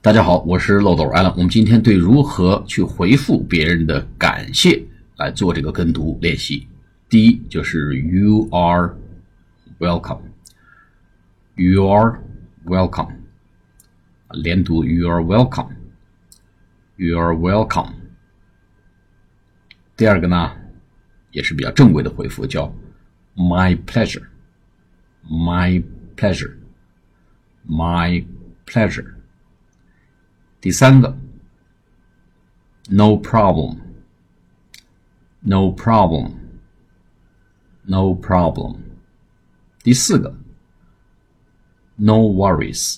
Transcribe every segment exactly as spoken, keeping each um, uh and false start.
大家好，我是漏斗 Alan。我们今天对如何去回复别人的感谢来做这个跟读练习。第一就是 You are welcome. You are welcome. 连读 You are welcome. You are welcome. 第二个呢，也是比较正规的回复，叫 My pleasure. My pleasure. My pleasure. 第三个 No problem. No problem. No problem. 第四个 No worries.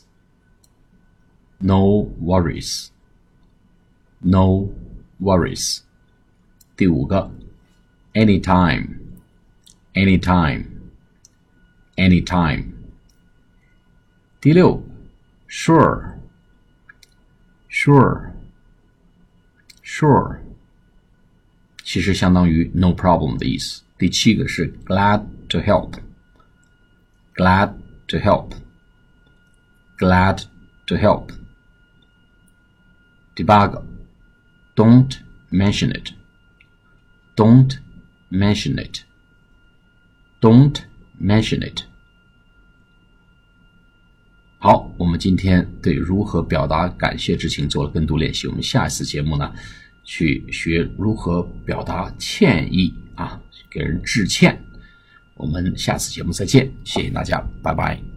No worries. No worries. 第五个 Anytime. Anytime. Anytime. 第六 Sure. Sure. Sure. 其实相当于 no problem 的意思。第七个是 glad to help. Glad to help. Glad to help. 第八个 don't mention it. Don't mention it. Don't mention it. 好，我们今天对如何表达感谢之情做了跟读练习。我们下一次节目呢，去学如何表达歉意啊，给人致歉。我们下次节目再见，谢谢大家，拜拜。